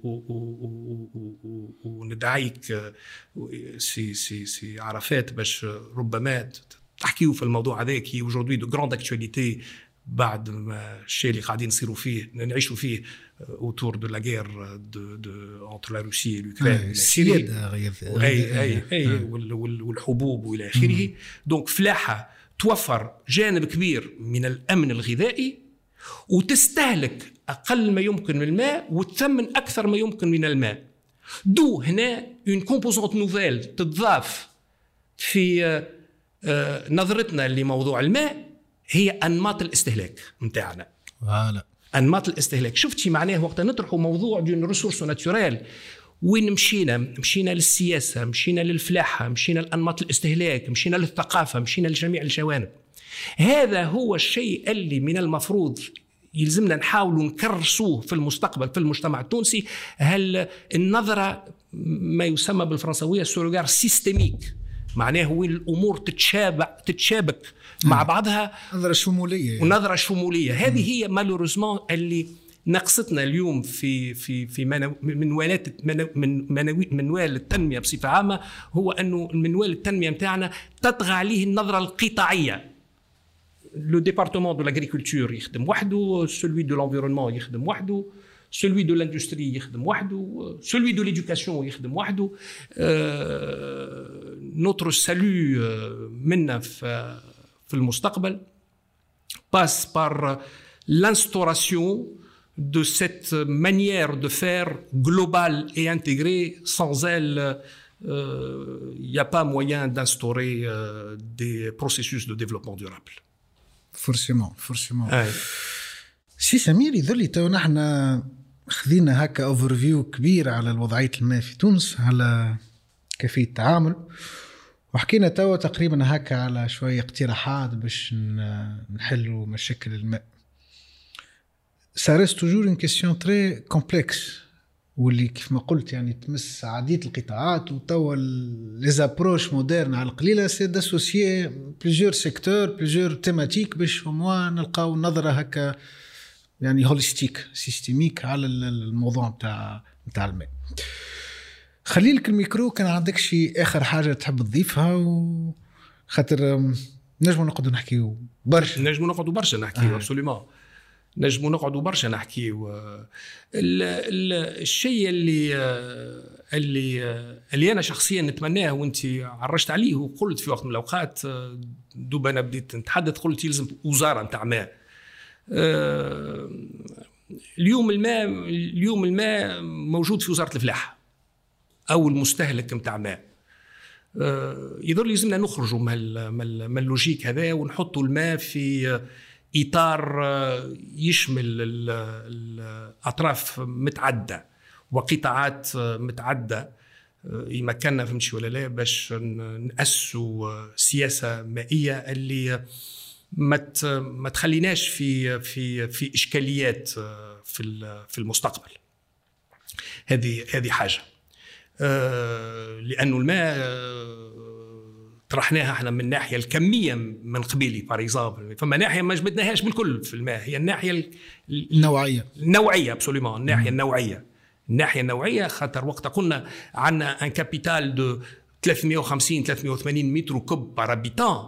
وندعيك سي سي سي عرفات باش ربما تحكيوا في الموضوع هذاك. هي aujourd'hui de grande actualité بعد ما الشيء اللي قاعدين نصيروا فيه نعيشوا فيه autour de la guerre de, de, entre la Russie et l'Ukraine السيادة أي أي أي والحبوب وإلى آخره. دونك فلاحة توفر جانب كبير من الأمن الغذائي وتستهلك أقل ما يمكن من الماء وتثمن أكثر ما يمكن من الماء. دو هنا une composante nouvelle تتضاف في نظرتنا لموضوع الماء هي أنماط الاستهلاك متاعنا. فوالا أنماط الاستهلاك. شفتي معناه وقت نطرحوا موضوع دون ريسورس ناتوريل وين مشينا؟ مشينا للسياسة، مشينا للفلاحة، مشينا لأنماط الاستهلاك، مشينا للثقافة، مشينا لجميع الجوانب. هذا هو الشيء اللي من المفروض يلزمنا نحاول نكرسوه في المستقبل في المجتمع التونسي. هل النظرة ما يسمى بالفرنسوية سورغار سيستميك، معناه وين الأمور تتشابك تتشابك مع بعضها، نظرة شمولية ونظرة شمولية. هذه هي مالوريزمون اللي نقصتنا اليوم في في في منوالات من منوال التنمية بصفة عامة، هو أنه المنوال التنمية متاعنا تطغى عليه النظرة القطاعية. لو ديبارتمون دو لاغريكولتور يخدم وحده، سولوي دو لانفيرونمون يخدم وحده، celui de l'industrie يخدم وحده، celui de l'éducation يخدم وحده. notre salut منا في في المستقبل passe par l'instauration de cette manière de faire globale et intégrée. Sans elle, il n'y a pas moyen d'instaurer des processus de développement durable. Forcément, forcément. سي سمير، يظل تو نحن خذينا هكا اوفرفيو كبير على وضعية الماء في تونس، على كيفية التعامل، وحكينا تو تقريبا هكا على شوية اقتراحات باش نحلوا مشاكل الماء. ça reste toujours une question très complexe، واللي كيف ما قلت يعني تمس عديد القطاعات، وتوا les approches modernes على القليلة c'est d'associer plusieurs secteurs plusieurs thématiques باش هما نلقاو نظرة هكا يعني هوليستيك سيستميك على الموضوع متاع متاع الماء. خلي لك الميكرو، كان عندك شي آخر حاجة تحب تضيفها؟ وخاطر نجمو نقعدوا نحكيو برشا نجمو نقعدوا برشا نحكيو ابسوليومون نجمو نقعدوا برشا نحكيو. الشيء اللي اللي اللي أنا شخصيا نتمناه وانت عرجت عليه وقلت في وقت من الأوقات، دوب أنا بديت نتحدث قلت يلزم وزارة متاع ماء. اليوم الماء اليوم الماء موجود في وزارة الفلاحة أو المستهلك متاع ماء. يظل يلزمنا نخرجوا من اللوجيك هذا ونحطوا الماء في إطار يشمل الأطراف متعدة وقطاعات متعدة، يمكننا فهمتش ولا لا باش نأسسوا سياسة مائية اللي ما ما تخليناش في في في إشكاليات في في المستقبل. هذه هذه حاجة، لأنه الماء طرحناها احنا من الناحيه الكميه من قبيلي باريزابل، فما ناحيه ما جبدناهاش بالكل في الماء، هي الناحيه النوعيه النوعيه ابسوليومون الناحيه النوعيه الناحيه النوعيه خاطر وقت قلنا عندنا ان كابيتال دو ثلاثمائة وخمسين ثلاثمائة وثمانين متر كوب بار هابيتان،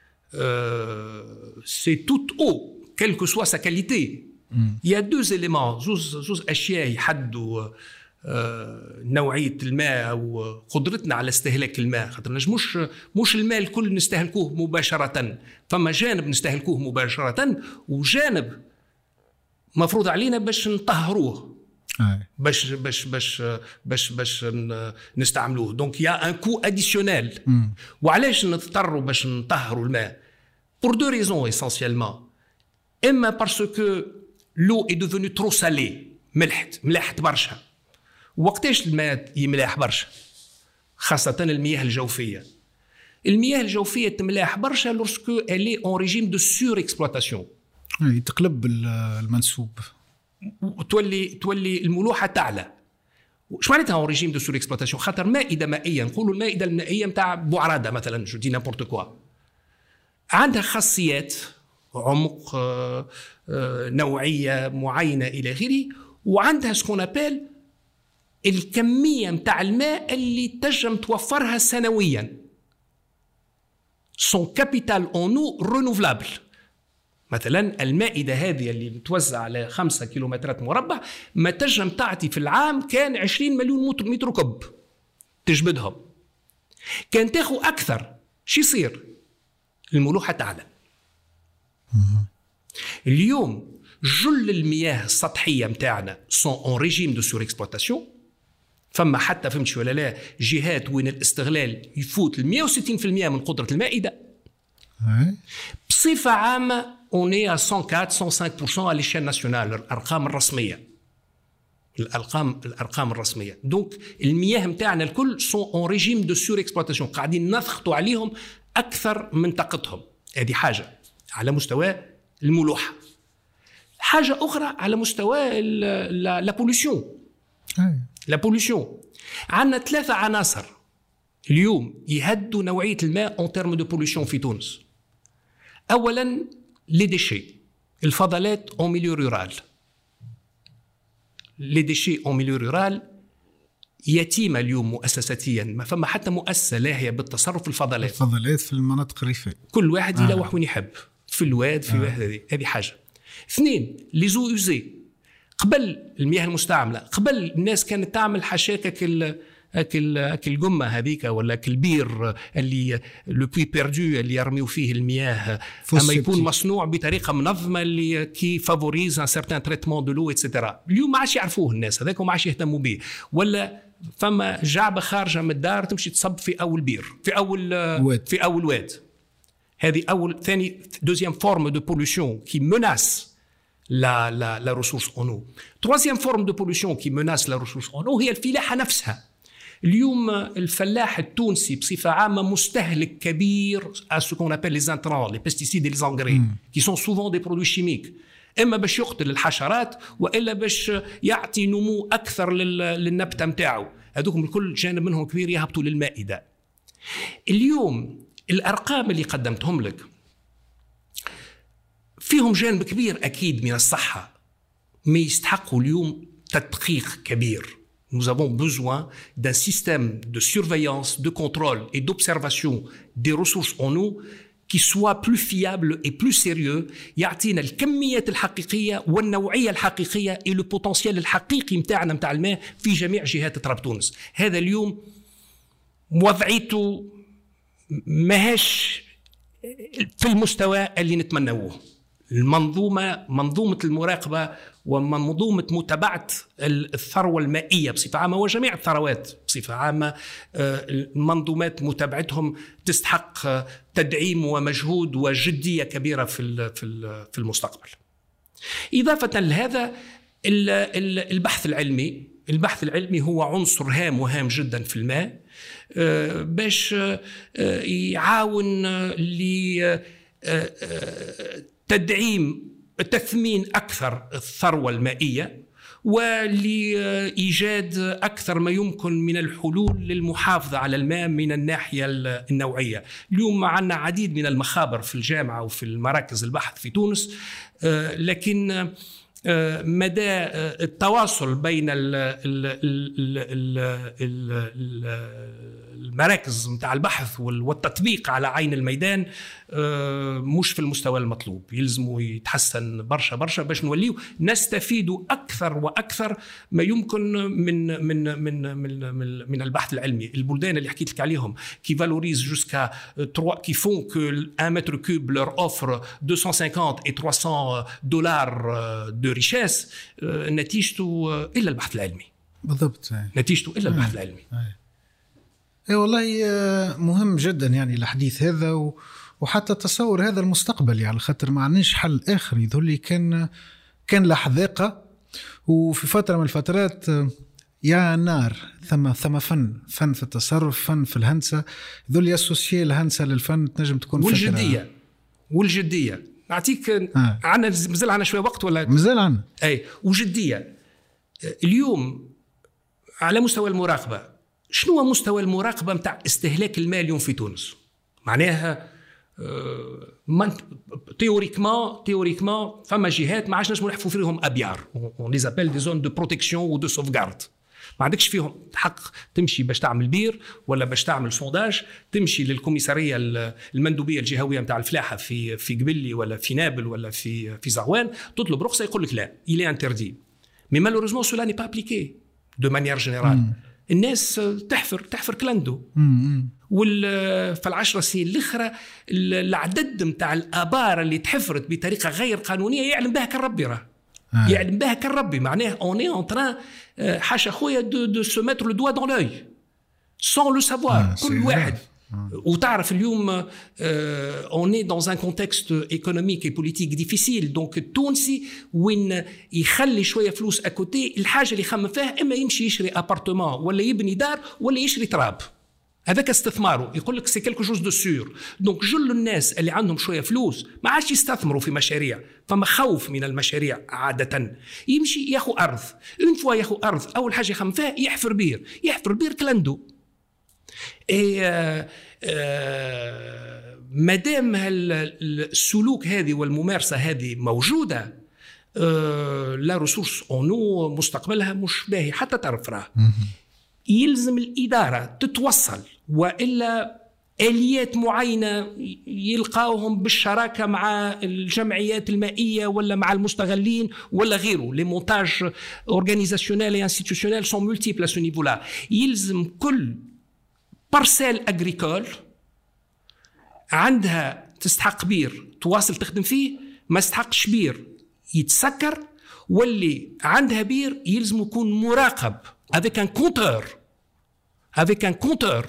سي توت او كيل كو سوا سا كاليتي. يا دوز إليمون، زوز زوز اشياء يحدوا نوعية الماء أو قدرتنا على استهلاك الماء. خاطر مش مش الماء الكل نستهلكوه مباشرة، فما جانب نستهلكوه مباشرة وجانب مفروض علينا باش نطهروه باش باش باش باش باش نستعملوه. دونك يا ان كو اديسيونيل. وعلاش نضطروا باش نطهروا الماء؟ pour deux raisons essentiellement. اما parce que l'eau est devenue trop salée، ملحت ملاحت برشا. وقتاش الماء يملاح برشا؟ خاصة المياه الجوفية. المياه الجوفية تملاح برشا لورسكو elle est en régime de surexploitation. تقلب المنسوب. تولي تولي الملوحة تعلى. وش معناتها en régime de surexploitation؟ خاطر مائدة مائية، نقولوا المائدة المائية متاع بوعرادة مثلا، جو دي نابورت كوا، عندها خاصيات عمق، نوعية معينة إلى آخره، وعندها سكون أبيل الكمية متاع الماء اللي تنجم توفرها سنويا. son capital en eau renouvelable. مثلا المائدة هذه اللي متوزع على خمسة كيلومترات مربع ما تنجم تعطي في العام كان عشرين مليون متر كب تجبدهم. كان تاخو أكثر شو يصير؟ الملوحة تعلى. اليوم جل المياه السطحية متاعنا سون اون ريجيم دو سور اكسبلوتاسيون. فما حتى فهمتش ولا لا جهات وين الاستغلال يفوت ال مئة وستين بالمئة من قدرة المائدة. بصفة عامة on est à cent quatre cent cinq pour cent à l'échelle nationale. الأرقام الرسمية الأرقام الأرقام الرسمية. دونك المياه متاعنا الكل سون اون ريجيم دو سور اكسبلوتاسيون، قاعدين نضغطوا عليهم أكثر من طاقتهم. هذه حاجة على مستوى الملوحة. حاجة أخرى على مستوى لا بوليسيون. لا بوليسيون عندنا ثلاثة عناصر اليوم يهدوا نوعية الماء اون تيرم دو بوليسيون في تونس. أولا لي ديشي، الفضلات اون ميليو رورال. لي ديشي اون ميليو رورال يتيمة اليوم مؤسساتيا، ما فما حتى مؤسسة لاهية بالتصرف في الفضلات. الفضلات في المناطق الريفية كل واحد آه. يلوح وين يحب، في الواد في آه. هذه هذه حاجة. اثنين لي زو يوزي، قبل المياه المستعملة قبل الناس كانت تعمل حشاكك اكل اكل جمه هذيك ولا كالبير اللي لو بوي بيردو اللي يرميو فيه المياه، اما يكون مصنوع بطريقه منظمه اللي كي فافوريز ان سيرتان تريتمون دو لو ايتترا. اليوم ما عادش يعرفوه الناس هذاك وما عادش يهتموا به. ولا فما جعبه خارجه من الدار تمشي تصب في اول بير في اول واد. في اول واد. هذه اول ثاني دوزيام فورم دو بولوشن كي مناس la la la ressource en eau. Troisième forme de pollution qui menace la ressource en eau هي الفلاحة نفسها. اليوم الفلاح التونسي بصفة عامة مستهلك كبير à ce qu'on appelle les intrants, les pesticides et les engrais, mm. qui sont souvent des produits chimiques. إما باش يقتل الحشرات وإلا باش يعطي نمو أكثر للنبتة متاعه. هذوكم الكل جانب منهم كبير يهبطوا للمائدة. اليوم الأرقام اللي قدمتهم لك فيهم جانب كبير أكيد من الصحة، ما يستحقوا اليوم تدقيق كبير. Nous avons besoin d'un système de surveillance, de contrôle et d'observation des ressources en eau qui soit plus fiable et plus sérieux. يعطينا الكميات الحقيقية والنوعية الحقيقية et le potentiel الحقيقي متاعنا متاع الماء في جميع جهات تراب تونس. هذا اليوم وضعيته ماهاش في المستوى اللي نتمنوه. المنظومة منظومة المراقبة ومنظومة متابعة الثروة المائية بصفة عامة وجميع الثروات بصفة عامة، المنظومات متابعتهم تستحق تدعيم ومجهود وجدية كبيرة في في المستقبل. إضافة لهذا البحث العلمي، البحث العلمي هو عنصر هام وهام جدا في الماء باش يعاون ل تدعيم تثمين أكثر الثروة المائية ولإيجاد أكثر ما يمكن من الحلول للمحافظة على الماء من الناحية النوعية. اليوم عندنا عديد من المخابر في الجامعة وفي المراكز البحث في تونس، لكن مدى التواصل بين المراكز متاع البحث والتطبيق على عين الميدان مش في المستوى المطلوب. يلزموا يتحسن برشا برشا باش نوليو نستفيد أكثر وأكثر ما يمكن من من من من, من البحث العلمي. البلدان اللي حكيت لك عليهم كي فالوريز جوسكا trois qui font que un mètre cube leur offre deux cent cinquante et trois cents dollars de richesse، نتيجته إلا البحث العلمي. بالضبط نتيجته إلا البحث العلمي. اي والله مهم جدا يعني الحديث هذا وحتى تصور هذا المستقبلي، على خاطر ما عندناش حل آخر. يظل كان كان لحظاقة وفي فترة من الفترات يا نار ثم ثم فن فن في التصرف، فن في الهندسة. يظل يسوسيي الهندسة للفن تنجم تكون والجدية والجدية. نعطيك آه. عنا مازال عنا شوية وقت ولا مازال عنا؟ أي وجدية. اليوم على مستوى المراقبة، شنو هو مستوى المراقبة متاع استهلاك الماء اليوم في تونس؟ معناها من تيوريكمان تيوريكمان فما جهات ما عادش نجمو نحفوا فيهم أبيار، on les appelle des zones de protection ou de sauvegarde. ما عندكش فيهم حق تمشي باش تعمل بير ولا باش تعمل سونداج، تمشي للكوميساريه المندوبيه الجهويه نتاع الفلاحه في في قبلي ولا في نابل ولا في في زغوان، تطلب رخصه يقول لك لا il est interdit. mais malheureusement cela n'est pas appliqué de manière générale. الناس تحفر تحفر كلاندو. وال في العشر سنين الاخرى العدد نتاع الابار اللي تحفرت بطريقه غير قانونيه يعلم بها كالربي راه آه. يعلم بها كالربي. معناه اون اي اون تران حاشا خويا دو دو سو ميتر لو دوا دون لوي سون لو سافوار. كل واحد آه. وتعرف اليوم اون اي دون ان كونتكست ايكونوميك اي بوليتيك ديفيسيل. دونك التونسي وين يخلي شويه فلوس اكوتي الحاجه اللي يخمم فيها اما يمشي يشري ابارتمان ولا يبني دار ولا يشري تراب. هذاك استثماره يقول لك سي كيلكو جوز دو سور. دونك جل الناس اللي عندهم شويه فلوس ما عادش يستثمروا في مشاريع، فما خوف من المشاريع عاده. يمشي ياخو ارض، اون فوا ياخو ارض اول حاجه يخمم فيها يحفر بير، يحفر بير كلاندو. اي آه آه مادام السلوك هذه والممارسه هذه موجوده، آه لا ريسورس اونو مستقبلها مش باهي حتى تعرف راه. يلزم الإدارة تتوصل، وإلا آليات معينة يلقاوهم بالشراكة مع الجمعيات المائية ولا مع المستغلين ولا غيره. les montages organisationnels et institutionnels sont multiples à ce niveau-là. يلزم كل بارسيل أغريكول عندها تستحق بير تواصل تخدم فيه، ما استحقش بير يتسكر، واللي عندها بير يلزم يكون مراقب avec un compteur avec un compteur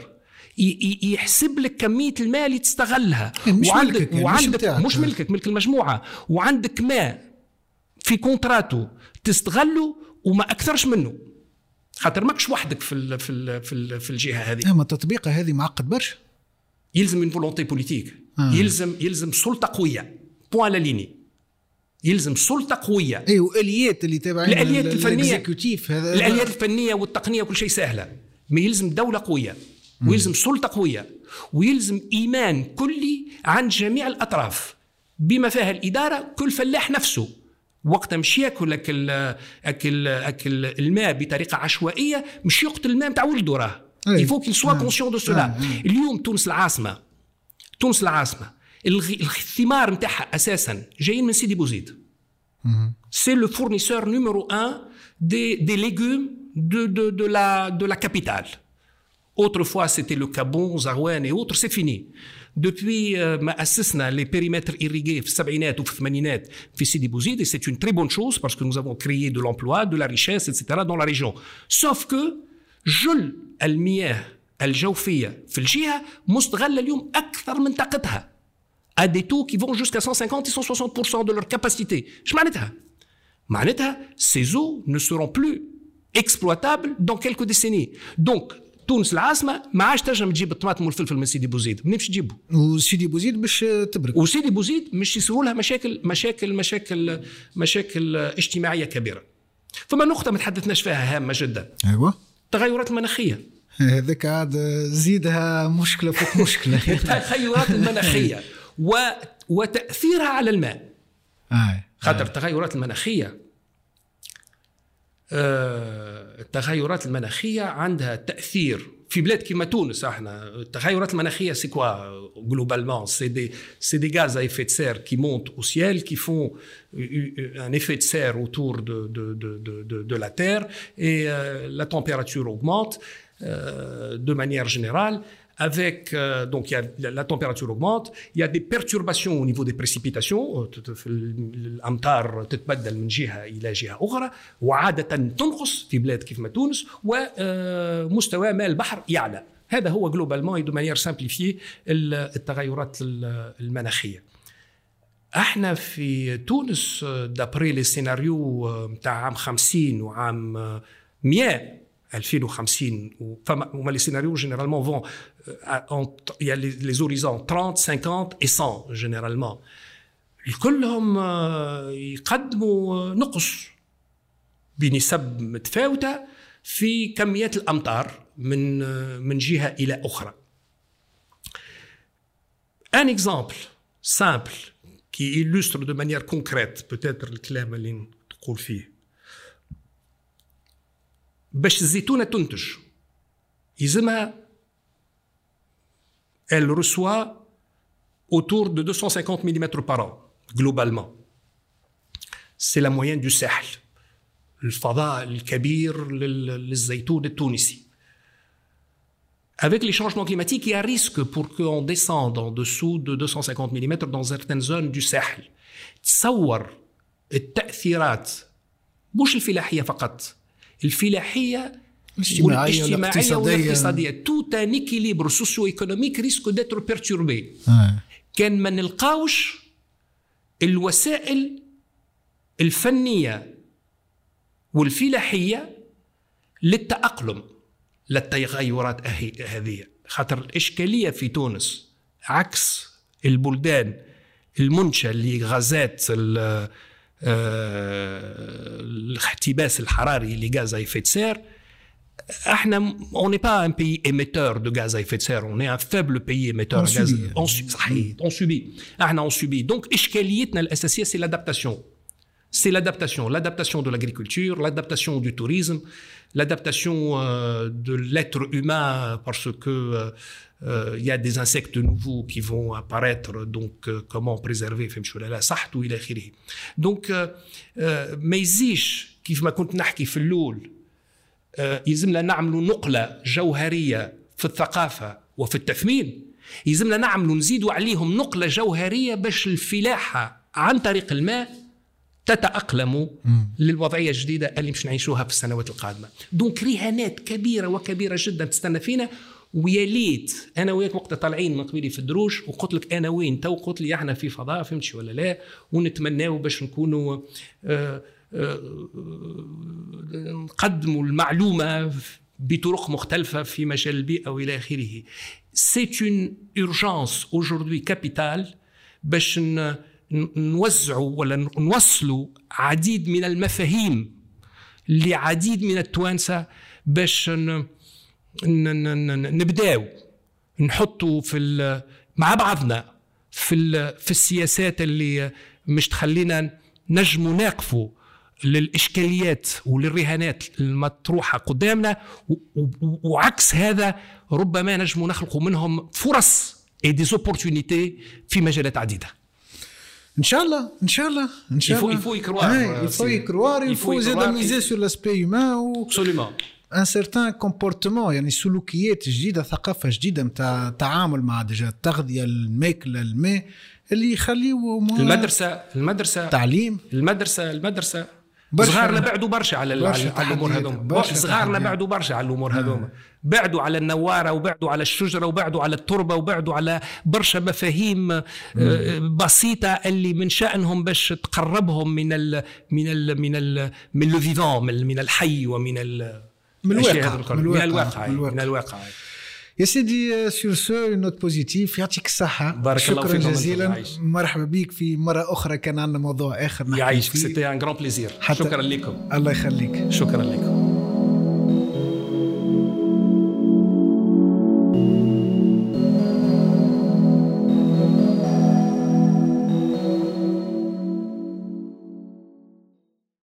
يحسب لك كمية الماء اللي تستغلها. مش وعندك ملكك يعني وعندك مش, مش ملكك، ملك المجموعة، وعندك ماء في كونتراتو تستغله وما أكثرش منه، خاطر ماكش وحدك في ال في ال في, ال في الجهة هذه. اما تطبيقها هذه معقد برشا. يلزم من فولونتي بوليتيك. آه. يلزم يلزم سلطة قوية بوان لا ليني. يلزم سلطة قوية. اي والآليات اللي تابعين الآليات الفنية، هذا الآليات الفنية والتقنية وكل شيء سهلة. ما يلزم دولة قوية، ويلزم سلطة قوية، ويلزم إيمان كلي عند جميع الأطراف بما فيها الإدارة. كل فلاح نفسه وقت مشي ياكل أكل أكل أكل الماء بطريقة عشوائية مش يقتل الماء متاع ولده راه. يفوك يسوا كونسيون دو سولا. اليوم تونس العاصمة، تونس العاصمة الثمار نتاعها أساسا جايين من سيدي بوزيد. C'est le fournisseur numéro un des, des légumes de, de, de, la, de la capitale. Autrefois, c'était le Gabon, Zarouane et autres, c'est fini. Depuis ما أسسنا les périmètres irrigués في السبعينات وفي الثمانينات في سيدي بوزيد, et c'est une très bonne chose parce que nous avons créé de l'emploi, de la richesse, et cetera dans la région. Sauf que جل المياه الجوفية في الجهة مستغلة اليوم أكثر من طاقتها. à des taux qui vont jusqu'à cent cinquante et cent soixante pour cent de leur capacité. Je معناتها معناتها ces eaux ne seront plus exploitables dans quelques décennies. Donc تونس العاصمة ما عادش تنجم تجيب الطماطم والفلفل من سيدي بوزيد، منين باش تجيبه؟ وسيدي بوزيد باش تبرك، وسيدي بوزيد مش يصيروا لها مشاكل مشاكل مشاكل مشاكل اجتماعية كبيرة. فما نقطة ما تحدثناش فيها هامة جدا. أيوة. التغيرات المناخية. هذاك عاد زيدها مشكلة فوق مشكلة. التغيرات المناخية و... وتأثيرها على الماء. آه. خاطر التغيرات المناخية آه... التغيرات المناخية عندها تأثير في بلاد كما تونس. احنا التغيرات المناخية c'est quoi globalement? C'est des c'est des gaz à effet de serre qui montent au ciel, qui font un effet de serre autour de de de de de la Terre, et euh, la température augmente euh, de manière générale. Avec euh, donc il y a la, la température augmente, il y a des perturbations au niveau des précipitations. الأمطار تتبدل من جهة إلى جهة أخرى، وعادة تنقص في بلاد كيف ما تونس، ومستوى ماء البحر يعلى. هذا هو جلوبالمون دو مانيير سامبليفيي التغيرات المناخية. احنا في تونس دابري لي سيناريو نتاع عام خمسين وعام مئة ألفين وخمسين، وما لي سيناريو généralement vont il y a les, les horizons trente, cinquante et cent généralement. كلهم يقدموا نقص بنسب متفاوتة في كميات الأمطار من من جهة إلى أخرى. Un exemple simple qui illustre de manière concrète peut-être الكلام اللي تقول فيه. باش الزيتونه تنتج يلزمها elle reçoit autour de deux cent cinquante millimètres par an globalement. C'est la moyenne du ساحل الفضاء الكبير للزيتون التونسي. Avec les changements climatiques, il y a un risque pour qu'on descende en dessous de deux cent cinquante millimètres dans certaines zones du ساحل. تصور التأثيرات مش الفلاحية فقط، الفلاحية الاجتماعية والاجتماعية والاقتصادية. tout un équilibre socio-économique risque d'être perturbé. آه. كان ما نلقاوش الوسائل الفنية والفلاحية للتأقلم للتغيرات هذه. خاطر الإشكالية في تونس عكس البلدان المنشأة لغازات الاحتباس الحراري لغاز à effet de serre. احنا on n'est pas un pays émetteur de gaz à effet de serre, on est un faible pays émetteur de gaz. On subit. صحيح on subit. احنا on subit. Donc إشكاليتنا الأساسية c'est l'adaptation. C'est l'adaptation, l'adaptation de l'agriculture, l'adaptation du tourisme, l'adaptation euh, de l'être humain parce que il euh, euh, y a des insectes nouveaux qui vont apparaître, donc euh, comment préserver فهمتوا صحته إلى آخره. Donc euh, ما يزيش كيف ما كنت نحكي في اللول يلزمنا نعملوا نقلة جوهرية في الثقافة وفي التثمين، يلزمنا نعملوا نزيدوا عليهم نقلة جوهرية باش الفلاحة عن طريق الماء تتأقلموا للوضعية الجديدة اللي مش نعيشوها في السنوات القادمة. دونك رهانات كبيرة وكبيرة جدا تستنى فينا. ويا ليت انا وياك وقت طالعين من قبيلي في الدروش وقلت لك انا وين تو، قلت لي احنا في فضاء فهمتش ولا لا، ونتمناو باش نكونوا آه نقدموا المعلومة بطرق مختلفة في مجال البيئة وإلى آخره. C'est une urgence aujourd'hui capitale باش نوزعوا ولا نوصلوا عديد من المفاهيم لعديد من التوانسة باش نبداو نحطوا في مع بعضنا في في السياسات اللي مش تخلينا نجموا ناقفوا للإشكاليات وللرهانات المطروحة قدامنا، وعكس هذا ربما نجموا نخلقوا منهم فرص et des opportunités في مجالات عديدة. ان شاء الله ان شاء الله ان شاء الله. il faut y croire. il faut y croire. il faut زاد miser sur l'aspect humain و absolument un certain comportement، يعني سلوكيات جديدة، ثقافة جديدة متاع تعامل مع ديجا التغذية، الماكلة، الماء، اللي يخليوا المدرسة المدرسة تعليم المدرسة المدرسة صغارنا بعدوا برشا على على الامور هذوما. صغارنا بعدوا برشا على الامور هذوما، بعدوا على النواره وبعدوا على الشجره وبعدوا على التربه وبعدوا على برشا مفاهيم بسيطه اللي من شأنهم باش تقربهم من ال من ال من ال من لو فيفون، من الحي ومن ال من الواقع من الواقع من الواقع. يا سيدي سور سو نوت بوزيتيف، يعطيك الصحة، بارك الله شكرا جزيلا، مرحبا بك في مرة أخرى، كان عندنا موضوع آخر يعيشك. سيتي ان غران بليزير. شكرا لكم. الله يخليك. شكرا لكم.